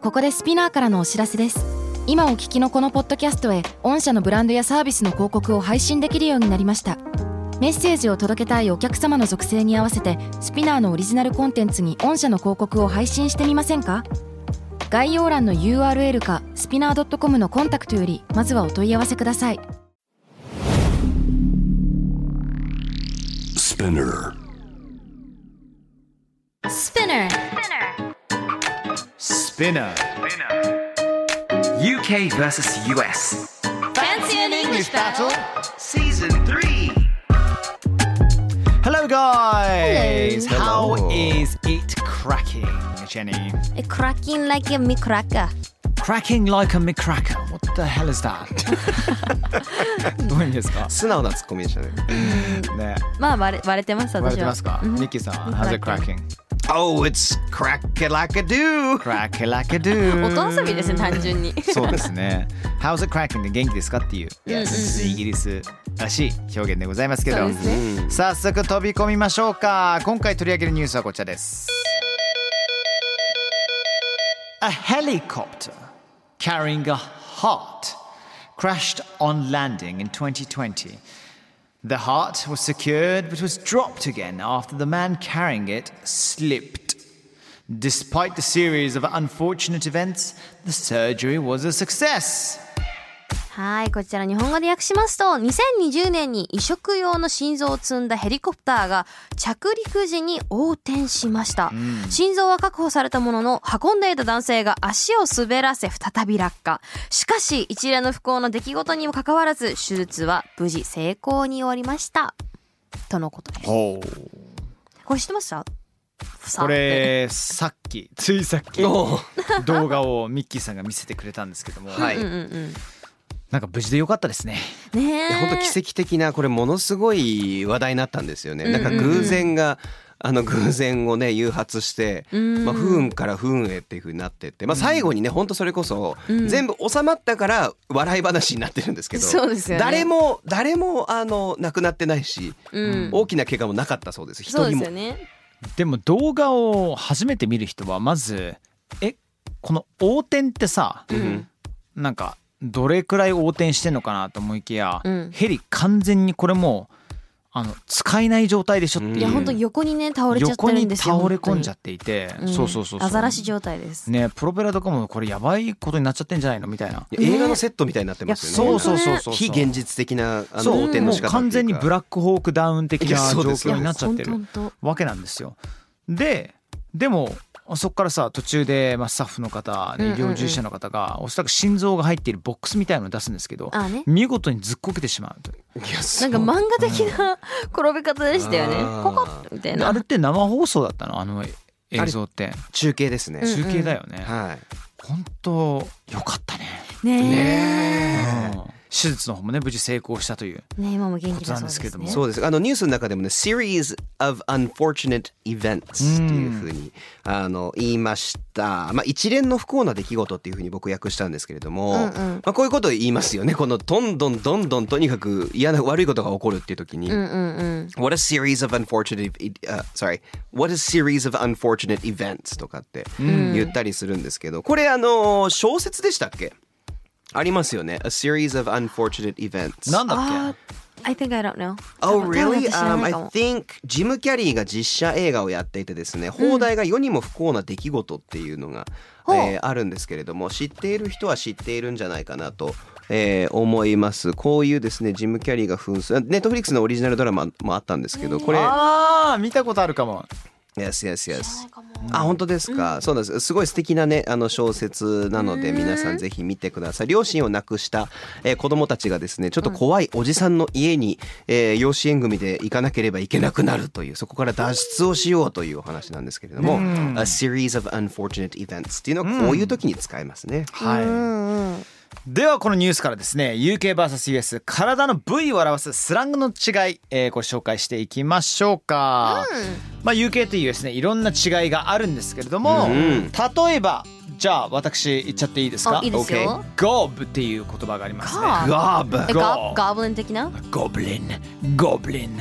ここでスピナーからのお知らせです。今お聞きのこのポッドキャストへ御社のブランドやサービスの広告を配信できるようになりました。メッセージを届けたいお客様の属性に合わせてスピナーのオリジナルコンテンツに御社の広告を配信してみませんか？概要欄の URL かスピナー .com のコンタクトよりまずはお問い合わせください。 スピナー Spinner UK vs US Fancy an English battle Season 3 Hello guys! Hello. How is it cracking, Jenny? Cracking like a cracker. Cracking like a McCracker. What the hell is that? どういう意味ですか？ 素直なツッコミでしたね。 ね、 まあ割れてます私は。 割れてますか？ニッキーさんは How's it cracking? Oh, it's crack-a-lack-a-do. Crack-a-lack-a-do. 音遊びですね単純に。 そうですね。How's it cracking で元気ですかっていう、イギリスらしい表現でございますけど、早速飛び込みましょうか。今回取り上げるニュースはこちらです。A helicopter carrying a heart crashed on landing in 2020. The heart was secured but was dropped again after the man carrying it slipped. Despite the series of unfortunate events, the surgery was a success. はい、こちら日本語で訳しますと、2020年に移植用の心臓を積んだヘリコプターが着陸時に横転しました。心臓は確保されたものの、運んでいた男性が足を滑らせ再び落下。しかし、一連の不幸な出来事にもかかわらず、手術は無事成功に終わりました。とのことです。これ知ってました？ これついさっき動画をミッキーさんが見せてくれたんですけども、 はい。 なんか無事でよかったですね。 ねえ。 本当奇跡的な、これものすごい話題になったんですよね。なんか偶然をね誘発して、不運から不運へっていう風になってって、最後にね本当それこそ全部収まったから笑い話になってるんですけど、 そうですよね。 誰も亡くなってないし、大きな怪我もなかったそうです。一人も。そうですよね。 でも動画を初めて見る人はまずこの横転ってさ、なんかどれくらい横転してんのかなと思いきや、ヘリ完全にこれも使えない状態でしょっていう。 いや本当横にね倒れちゃってるんですよ。 横に倒れ込んじゃっていて、そうアザラシ状態ですね。プロペラとかもこれやばいことになっちゃってんじゃないのみたいな、 映画のセットみたいになってますよね。そう非現実的な横転の仕方。 完全にブラックホークダウン的な状況になっちゃってるわけなんですよ。でもそこからさ途中でスタッフの方、医療従事者の方がおそらく心臓が入っているボックスみたいなのを出すんですけど、見事にずっこけてしまうという。 なんか漫画的な転び方でしたよね。ココッみたいな。 あれって生放送だったの？映像って中継ですね。 中継だよね。本当よかったね。ねえ。手術の方もね無事成功したという今も元気だそうですけども、そうです。ニュースの中でもね series of unfortunate events っていうふうに言いました。一連の不幸な出来事っていうふうに僕訳したんですけれども、こういうことを言いますよね。このどんどんとにかく悪いことが起こるっていう時に、What a series of unfortunate What a series of unfortunate events とかって言ったりするんですけど、これ小説でしたっけ？ありますよね。A series of unfortunate events。 なんだっけ？ I think I don't know. Oh, really? I think ジム・キャリーが実写映画をやっていてですね、放題が世にも不幸な出来事っていうのが、あるんですけれども、知っている人は知っているんじゃないかなと、思います。こういうですね、ジム・キャリーが扮するネットフリックスのオリジナルドラマもあったんですけど、これ見たことあるかも。 Yes. 本当ですか。そうなんです。すごい素敵なね小説なので皆さんぜひ見てください。両親を亡くした、子供たちがですねちょっと怖いおじさんの家に、養子縁組で行かなければいけなくなるという、そこから脱出をしようというお話なんですけれども、A series of unfortunate events っていうのはこういう時に使えますね。 ではこのニュースからですね UK vs US 体の部位を表すスラングの違い、これ紹介していきましょうか。UK というですねいろんな違いがあるんですけれども、例えばじゃあ私言っちゃっていいですか？ いいですよ。 Gob っていう言葉がありますね。 Goblin 的な？ Goblin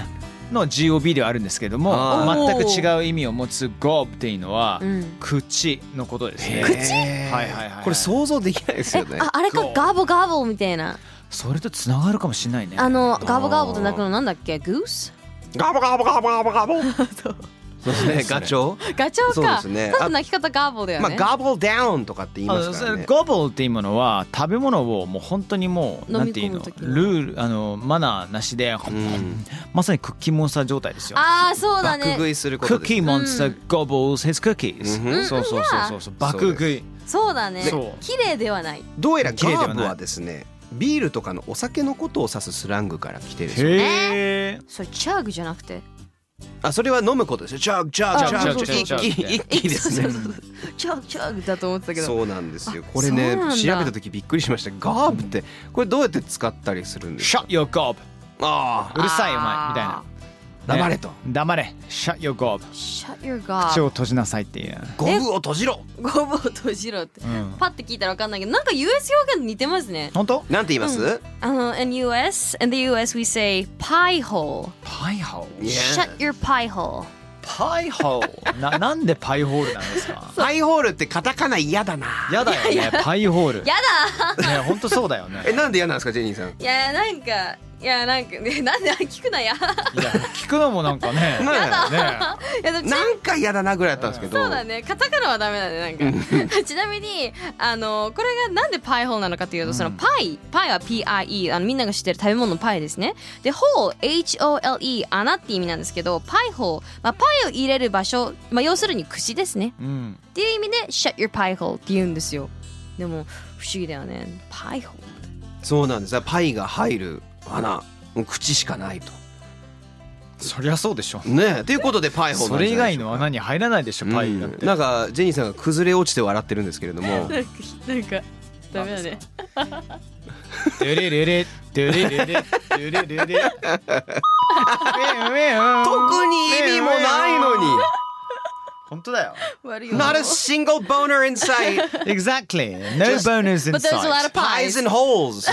の GOB ではあるんですけども、全く違う意味を持つ gob っていうのは、口のことですね。 口？ はいはいはい。 これ想像できないですよね。 あれかガボガボみたいな。 それとつながるかもしれないね。 ガボガボって鳴くのなんだっけ？グース？ ガボガボガボガボガボ。そうですね。ガチョウ。 ガチョウか。 そうですね。 多分鳴き方ガボだよね。 ガボルダウンとかって言いますからね。 ゴボルっていうものは食べ物をもう本当にもうなんていうのルールマナーなしで、まさにクッキーモンスター状態ですよ。 ああそうだね。 爆食いすることです。 クッキーモンスターgobbles his cookies。そうそうそうそう。爆食い。 そうだね。綺麗ではない。 どうやらガーブはですね、ビールとかのお酒のことを指すスラングから来てるんですよ。 それチャグじゃなくて。 それは飲むことですよ。チャグチャグチャグ一気ですね。 チャグチャグだと思ってたけど。 そうなんですよ。これね調べた時びっくりしました。ガーブってこれどうやって使ったりするんですか？ Shut your gob。うるさいお前みたいな。 黙れと。 黙れ。Shut your gob。 Shut your gob。 口を閉じなさいっていう。 ゴブを閉じろ。 ゴブを閉じろって。パッて聞いたらわかんないけど、なんか US 表現似てますね。 本当？ なんて言います？ in the US we say pie hole。 pie hole。 Shut your pie hole。 パイホールなんでパイホールなんですか？ パイホールってカタカナ嫌だな。 嫌だよね。パイホール。 嫌だ。 ね本当そうだよね。 なんで嫌なんですかジェニーさん？ いやなんかなんで聞くなや。いや聞くのもなんかね。 やだ。 なんか嫌だなぐらいだったんですけど。 そうだね。カタカナはダメだねなんか。ちなみにこれがなんでパイホールなのかというと、そのパイは PIE みんなが知ってる食べ物のパイですね。でホール HOLE 穴って意味なんですけど、パイホールパイを入れる場所、要するに口ですね。っていう意味で Shut your pie hole って言うんですよ。でも不思議だよね。パイホール。 そうなんです。パイが入る穴、口しかないと。 そりゃそうでしょね。ということでパイホール。 それ以外の穴に入らないでしょパイだって。 なんかジェニーさんが崩れ落ちて笑ってるんですけれども。 なんかダメだね。 ドゥレレレドゥレレレドゥレレレ。 特に意味もないのに。 本当だよ。 Not a single boner in sight. Exactly. No boners in But there's a lot sight. of pies and holes.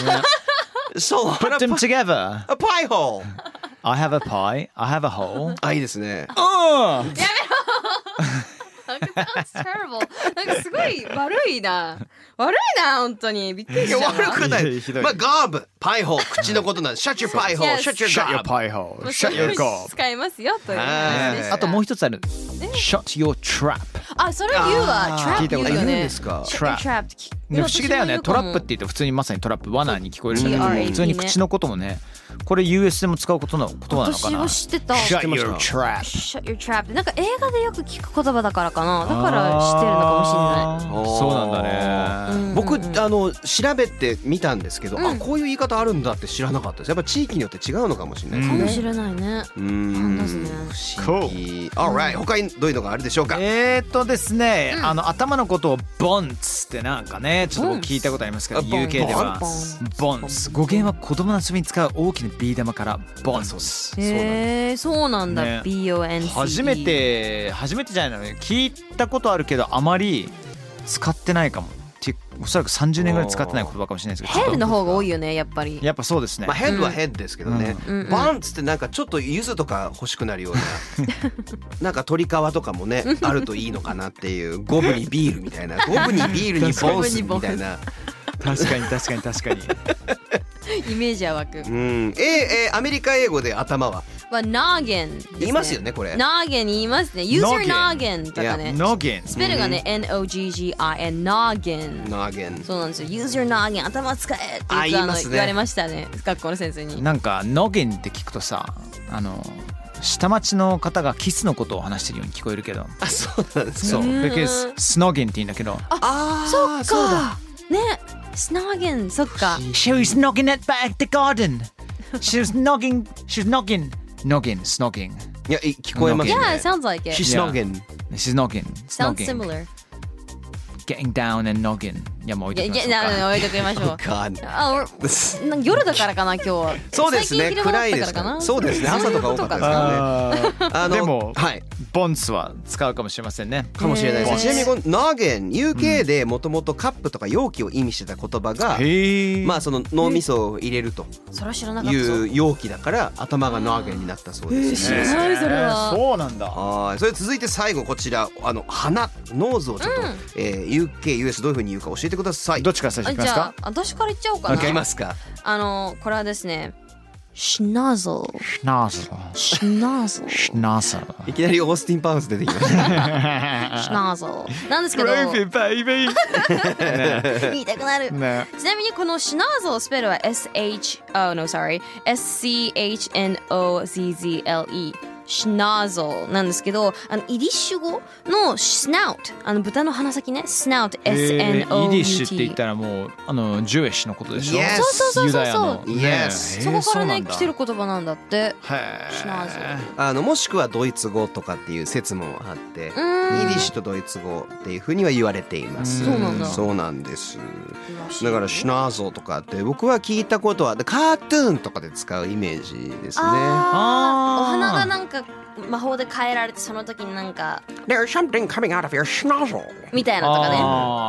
So put them together. A pie hole. I have a pie. I have a hole. いいですね。 やめろ。That's terrible. なんかすごい悪いな本当にびっくりした。 悪くない。ガーブパイホール口のことなんです。Shut your pie hole. Shut your pie hole. Shut your gob. 使いますよという。 あともう一つある。Shut your trap. それ言うわ。Trap 言うよね。 Trap。不思議だよね。トラップって言って普通にまさにトラップ罠に聞こえるんだけど、普通に口のこともね。これ US でも使う言葉なのかな。 私も知ってた。 Shut your trap. Shut your trap ってなんか映画でよく聞く言葉だからかな。だから知ってるのかもしれない。 そうなんだね。 僕調べてみたんですけど、こういう言い方あるんだって知らなかったです。やっぱ地域によって違うのかもしれないですね。 かもしれないね。 不思議。Alright。他にどういうのがあるでしょうか。 ですね、頭のことをボンツってなんかねちょっと聞いたことありますけど UK ではボンツ語源は子供の遊びに使う大きなビー玉からボンツ。 そうなんだ。BONC。 初めてじゃないのね。聞いたことあるけどあまり使ってないかも。おそらく30年ぐらい使ってない言葉かもしれないですけど。 ヘッドの方が多いよねやっぱり。 やっぱそうですね。 ヘッドはヘッドですけどね。ボンツってなんかちょっと柚子とか欲しくなるようななんか鶏皮とかもねあるといいのかなっていう。ゴブにビールみたいな。ゴブにビールにボンスみたいな。 確かにイメージは湧く。 アメリカ英語で頭は noggin 言いますよねこれ。 noggin 言いますね。Use your noggin とかね。 noggin スペルがね NOGGIN noggin。そうなんですよ。Use your noggin 頭使えって言われましたね学校の先生に。 なんか noggin って聞くとさ下町の方がキスのことを話してるように聞こえるけど。 そうなんですそう。because snogging って言うんだけど。 そっかね。snogging そっか。 She was knocking at the garden. She was knocking. Snogging. いや聞こえますね。 Yeah, it sounds like it. She's snogging. She's knocking. Sounds similar. getting down and noggin いやもう置いときましょうか置いときましょう God なんか夜だからかな今日はそうですね最近昼間だ暗いですったからかなそうですね朝とか多かったですからねでも、 はいボンスは使うかもしれませんねかもしれないですちなみにこの noggin UK でもともとカップとか容器を意味してた言葉がまあその脳みそを入れるとそれは知らなかったぞいう容器だから頭が noggin になったそうですね知らないそれはそうなんだはいそれ続いて最後こちら鼻ノーズをちょっと、UK、US どういう風に言うか教えてくださいどっちから最初いきますじゃあか私から言っちゃおうかないきますかこれはですねSchnozzle シュナーズ Schnozzle シュナーズいきなりオースティン・パウンス出てきました Schnozzle なんですけどベイベイ言いたくなるねちなみにこの Schnozzle スペルは SHNOZZLE Schnozzle なんですけどイディッシュ語の Snout 豚の鼻先ね Snout イディッシュって言っ SNOUT たらもうジュエッシュのことでしょ Yes そうユダヤの Yes そこからね来てる言葉なんだってへ Schnozzle もしくはドイツ語とかっていう説もあってイディッシュとドイツ語っていう風には言われていますそうなんだそうなんですだからシュナーゾーとかって僕は聞いたことはカートゥーンとかで使うイメージですねお花がなんか魔法で変えられてその時になんか There's something coming out of your schnozzle みたいなとかね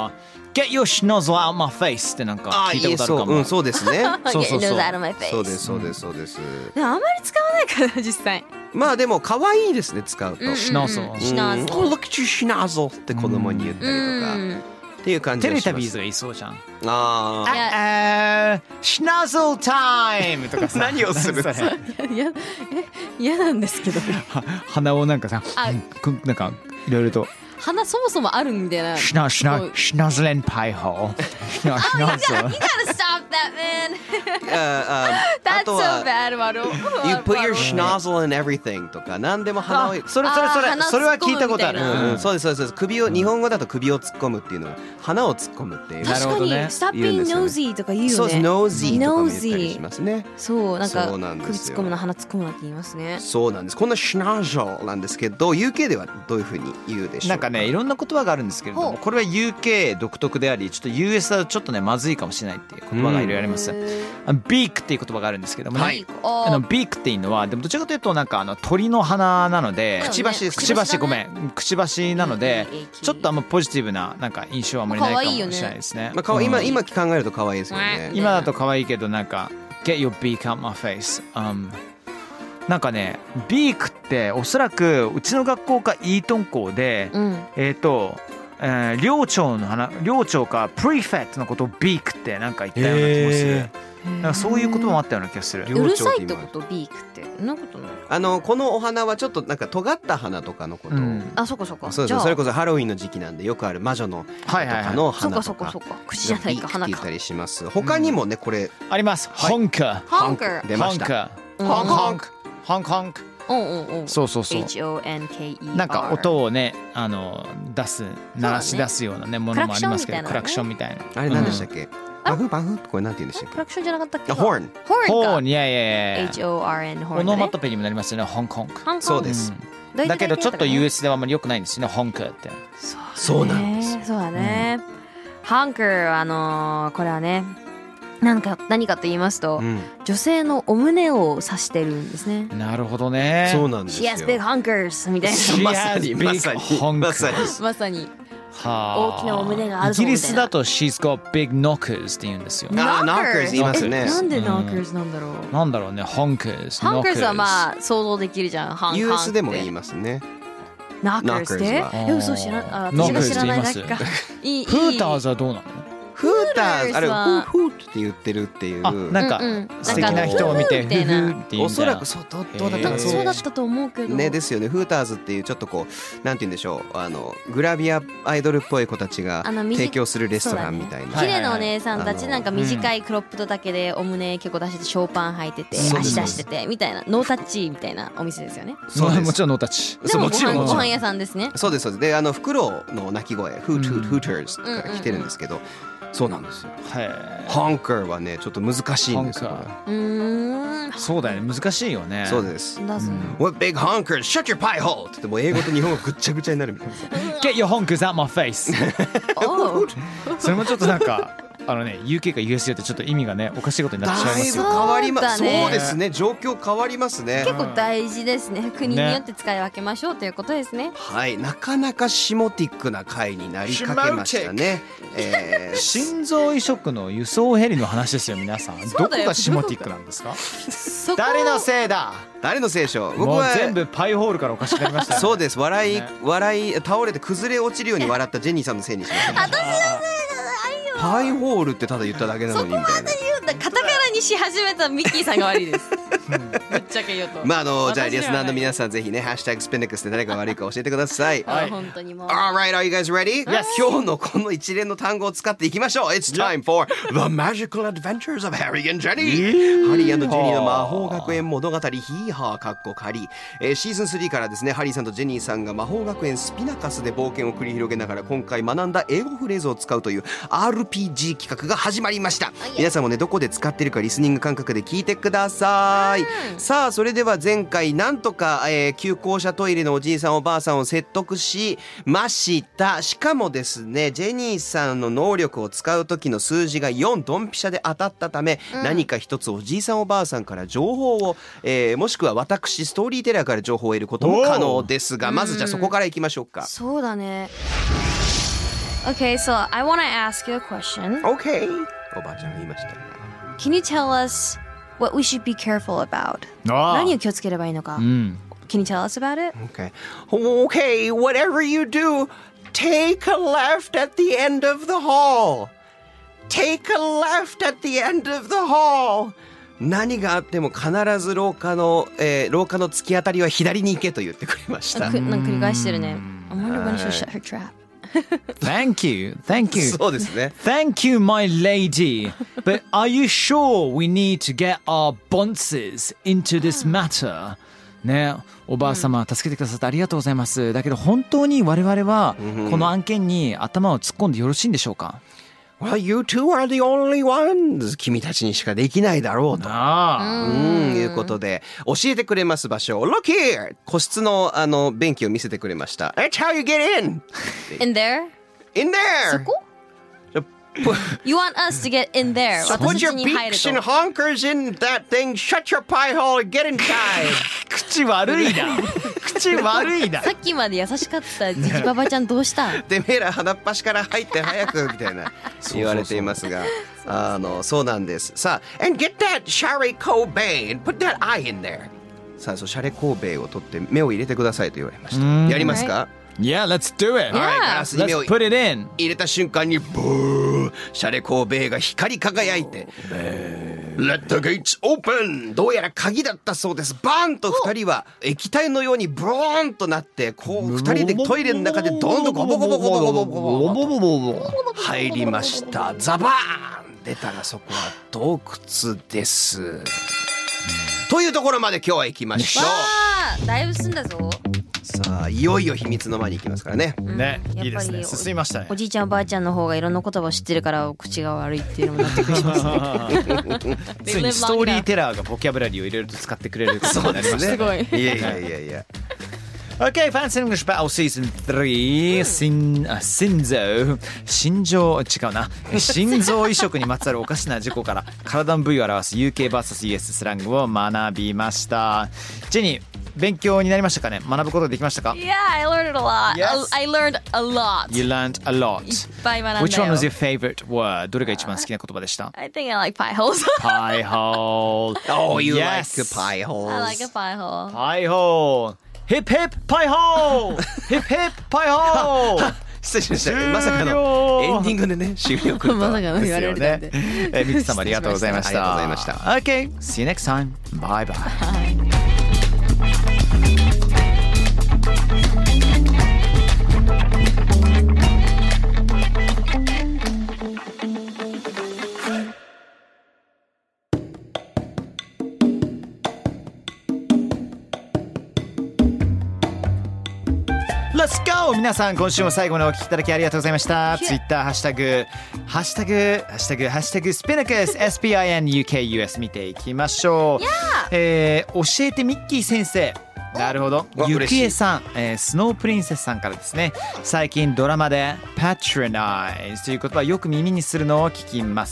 Get your schnozzle out my face ってなんか聞いたことあるかもそうですねそうそうそう Get out of my face そうですそうですそうですでもあんまり使わないから実際まあでも可愛いですね使うとシュナーズルシュナーズル Oh, look at your schnozzle って子供に言ったりとかっていう感じテがしますレタビーズがいそうじゃんあいやシュナーズルタイムとかさ何をするそれ嫌なんですけど鼻をなんかさなんかいろいろと花そもそもあるみたいなシュナーズレンパイホーシュナーズル You gotta stop that man あ That's と so は bad ワロ You put your schnozzle in everything とか何でも鼻をそれは聞いたことあるそうですそうです首を日本語だと首を突っ込むっていうのは鼻を突っ込むっていうなる確かにほどね Stop 言うん being ですよね nosy とか言うよねそうです nosy とかも言ったり Nosy しますねそうなんかそうなんですよ首突っ込むな鼻突っ込むなって言いますねそうなんですこの schnozzle なんですけど UK ではどういうふうに言うでしょうなんかねいろんな言葉があるんですけれどもこれは UK 独特でありちょっと US だとちょっとねまずいかもしれないっていう言葉がいろいろありますビークっていう言葉があるんですけどもねビークっていうのはでもどちらかというとなんか鳥の鼻なのでくちばしですくちばしごめんくちばしなのでちょっとあんまポジティブななんか印象はあんまりないかもしれないですねまあ今考えると可愛いですよね今だと可愛いけどなんか Get your beak out my face、なんかねビークっておそらくうちの学校かイートン校で、寮長かプリフェットのことをビークってなんか言ったような気もするなんかそういう言葉もあったような気がするうるさいってことビークってそんなことないこのお花はちょっとなんか尖った花とかのことを、 あそこそこそうですそれこそハロウィンの時期なんでよくある魔女のとかの花とか口じゃないか花かビークって言ったりします他にもねこれありますホンカホンカー出ましたホンホンクホンホンクそうそうそう HONKER なんか音をね出す鳴らし出すようなねものもありますけどクラクションみたいなあれ何でしたっけバフバフこれなんて言うんでしたっクラクションじゃなかったっけけホーンホーンかいやいやいや HORN ホーンオノマトペにもなりますよねホンコンクそうですだけどちょっと US ではあんまり良くないんですよねホンクってそうなんですそうだねハンカーこれはね何かと言いますと、女性のお胸を指してるんですね。 なるほどね。 そうなんですよ。 She has big hunkers みたいな。 まさにまさに大きなお胸があるイギリスだと She's got big knockers って言うんですよ。 knockers 言いますね。 なんで knockers なんだろう。 なんだろうね。honkers。 honkers はまあ想像できるじゃん。 US でも言いますね。 knockers って嘘知らない。私が知らないだけか。 フーターズはどうなの？ フーターズあれフーって言ってるっていうなんか素敵な人を見てフーフーって言うんおそらくそうどうだったかそうだったと思うけどねですよねフーターズっていうちょっとこうなんて言うんでしょうグラビアアイドルっぽい子たちが提供するレストランみたいな綺麗なお姉さんたちなんか短いクロップドだけでお胸結構出してショーパン履いてて足出しててみたいなノータッチみたいなお店ですよね。 もちろんノータッチでもご飯屋さんですね。 そうですそうですでフクロウの鳴き声フーターズから来てるんですけどそうなんですよ。ハンカーはねちょっと難しいんですよ。 そうだよね難しいよね。 そうです。What big honkers? Shut your pie hole! って言っても英語と日本語ぐっちゃぐちゃになるみたいな。 Get your honkers out my face. road? それもちょっとなんかUK か USJ ってちょっと意味がねおかしいことになってしまいますよ。 だいぶ変わります。 そうだねそうですね。状況変わりますね。 結構大事ですね。国によって使い分けましょうということですね。 はい、なかなかシモティックな回になりかけましたね。 心臓移植の輸送ヘリの話ですよ皆さん。どこがシモティックなんですか？ そこ誰のせいだ？ 誰の聖書？僕もうは全部パイホールからおかしくなりましたよね。 そうです。笑い倒れて崩れ落ちるように笑ったジェニーさんのせいにしました。 私のせいじゃないよ。 パイホールってただ言っただけなのにみたいな。 言うんだ。カタカナにし始めたミッキーさんが悪いです。ぶっちゃけ言うと。 まあじゃあリスナーの皆さんぜひねハッシュタグスピネックスで誰が悪いか教えてください。 はい本当にもう。 Alright, are you guys ready? Yes. 今日のこの一連の単語を使っていきましょう。It's time for The Magical Adventures of Harry and Jenny. ハリー&ジェニーの魔法学園物語ヒーハーかっこ仮。シーズン3からですねハリーさんとジェニーさんが魔法学園スピナカスで冒険を繰り広げながら今回学んだ英語フレーズを使うという RPG 企画が始まりました。皆さんもねどこで使ってるかリスニング感覚で聞いてください。さあそれでは前回なんとか、旧校舎トイレのおじいさんおばあさんを説得しました。しかもですねジェニーさんの能力を使う時の数字が4ドンピシャで当たったため、何か一つおじいさんおばあさんから情報を、もしくは私ストーリーテラーから情報を得ることも可能ですが、まずじゃあそこからいきましょうか。 そうだね。Okay, so I want to ask you a question. OK おばあちゃんが言いました。 Can you tell us what we should be careful about? あ何を気をつければいいのか。Can you tell us about it? Okay, whatever you do, take a left at the end of the hall. Take a left at the end of the hall. 何があっても必ず廊下の突き当たりは左に行けと言ってくれました。 なんか繰り返してるね。I wonder when she shut her trap. Thank you. そうですね。 Thank you, my lady. But are you sure we need to get our bonces into this matter? ね、おばあ様、助けてくださってありがとうございます。だけど本当に我々はこの案件に頭を突っ込んでよろしいんでしょうか？ Well, you two are the only ones. 君たちにしかできないだろうと。いうことで教えてくれます場所。Look here! 個室の便器を見せてくれました。That's how you get in! In there? In there! そこ？You want us to get in there? So 私 put たち your に入る beaks and と。 honkers in that thing, shut your pie hole and get inside! 口悪いな。口悪いな。 さっきまで優しかったジジババちゃんどうしたん？ てめえら鼻っ端から入って早くみたいな言われていますがそうなんです。さあ and get that Shari Kobe and put that eye in there. さあシャレコーベイを取って目を入れてくださいと言われました。やりますか？ Yeah, let's do it. はい、ガラスに目 Let's を put it in. 入れた瞬間にブーシャレコーベイが光り輝いて Let the gates open! どうやら鍵だったそうです。バーンと二人は液体のようにブーンとなってこう二人でトイレの中でどんどんゴボゴボゴボゴボゴボ入りました。ザバーン出たらそこは洞窟です。というところまで今日は行きましょう。 わあ、だいぶ進んだぞ。 さあいよいよ秘密の間に行きますからね。 ね、 やっぱりいいですね。進みましたねお。じいちゃんおばあちゃんの方がいろんな言葉を知ってるから口が悪いっていうのも納得しますね。 ついにストーリーテラーがボキャブラリーを入れると使ってくれることになりましたね。 すごい。 いやいやいやいや。 Okay, Fancy English Battle Season 3心臓違うな心臓移植にまつわるおかしな事故から体の部位を表す UK vs.US スラングを学びました。ジェニー、勉強になりましたかね？学ぶことできましたか？ Yeah, I learned it a lot. Yes. I learned a lot. You learned a lot. いっぱい学んだよ。 Which one was your favorite word? どれが一番好きな言葉でした？ I think I like pie holes. Pie hole. Oh, you Yes. like pie holes. I like a pie hole. Pie hole. Hip hip pie hole. Hip hip pie hole. 失礼しました。まさかのエンディングでね終了来るとはまさかの言われるなんて。 ミツ様ありがとうございました。 ありがとうございました。 Okay, see you next time. Bye bye. Let's go! 皆さん今週も最後までお聞きいただきありがとうございました。Twitter ハッシュタグスピナクス SPINUKUS 見ていきましょう。教えてミッキー先生。 なるほど。ゆきえさん、スノープリンセスさんからですね。最近ドラマで patronize という言葉をよく耳にするのを聞きます。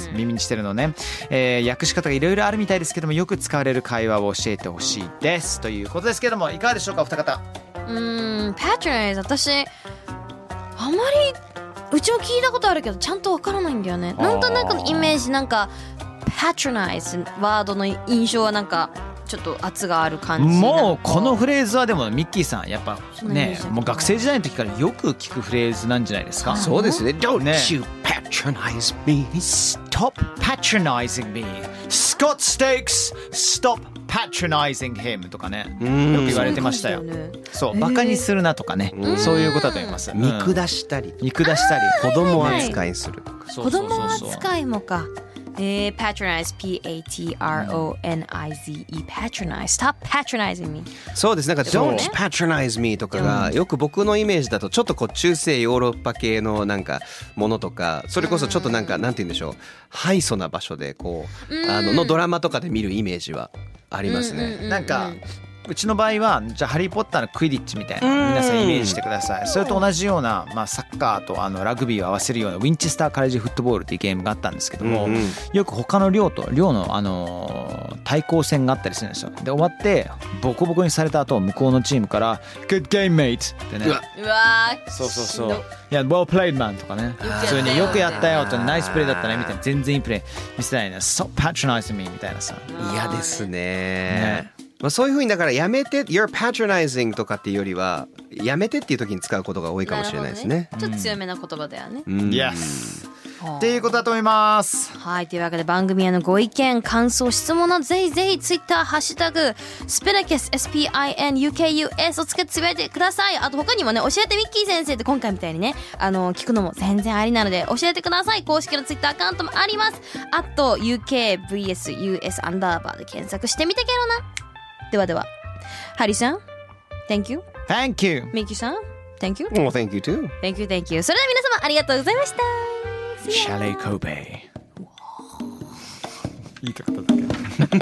耳にしてるのね。訳し方がいろいろあるみたいですけども、よく使われる会話を教えてほしいですということですけども、いかがでしょうかお二方。 patronize 私あまりうちも聞いたことあるけどちゃんとわからないんだよね。なんとなくのイメージなんか patronize ワードの印象はなんかちょっと圧がある感じ。 もうこのフレーズはでもミッキーさんやっぱね、もう学生時代の時からよく聞くフレーズなんじゃないですか。 そうですね。Don't ね you patronize me. Stop patronizing me. Scott Stakes, stop patronizing him とかね、よく言われてましたよ。そう、バカにするなとかね、そういうことだと思います。 見下したり、 見下したり、 子供扱いするとか。 そうそうそうそう子供扱いもか。patronize patronize patronize stop patronizing me。 そうです。なんか Don't patronize me とかがよく僕のイメージだとちょっとこう中世ヨーロッパ系のなんかものとか、それこそちょっとなんかなんて言うんでしょう、ハイソな場所でこうのドラマとかで見るイメージはありますね。 なんかうちの場合はじゃあハリーポッターのクイディッチみたいな皆さんイメージしてください。それと同じような、まあ、サッカーとラグビーを合わせるようなウィンチェスターカレッジフットボールっていうゲームがあったんですけども、よく他の寮の対抗戦があったりするんですよ。で終わってボコボコにされた後向こうのチームから「Good game mate」ってね、 うわそうそうそう、いや Well played man とかね、普通によくやったよとナイスプレーだったねみたいな、全然いいプレー見せたいな、Stop patronizing me みたいなさ、 嫌ですね。まあ、そういう風にだからやめて You're patronizing とかっていうよりはやめてっていう時に使うことが多いかもしれないですね。 ちょっと強めな言葉だよね。 Yes っていうことだと思います。 はい、というわけで番組へのご意見感想質問などぜひぜひツイッターハッシュタグスピナキス SPINUKUS をつけてつぶやいてください。あと他にもね、教えてミッキー先生って今回みたいにね聞くのも全然ありなので教えてください。公式のツイッターアカウントもあります。あと UKVSUS アンダーバーで検索してみてけろな。ではではハリーさん Thank you Thank you ミッキーさん Thank you Well, thank you too. Thank you Thank you それでは皆様ありがとうございました。 シャレイコベ言いたかっただけ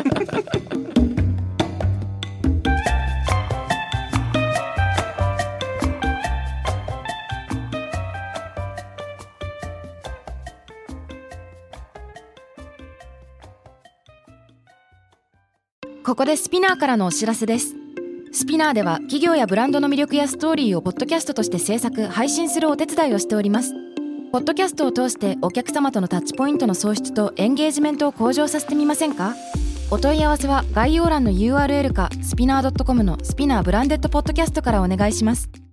ここでスピナーからのお知らせです。スピナーでは企業やブランドの魅力やストーリーをポッドキャストとして制作・配信するお手伝いをしております。ポッドキャストを通してお客様とのタッチポイントの創出とエンゲージメントを向上させてみませんか？お問い合わせは概要欄の URL かスピナー .com のスピナーブランデッドポッドキャストからお願いします。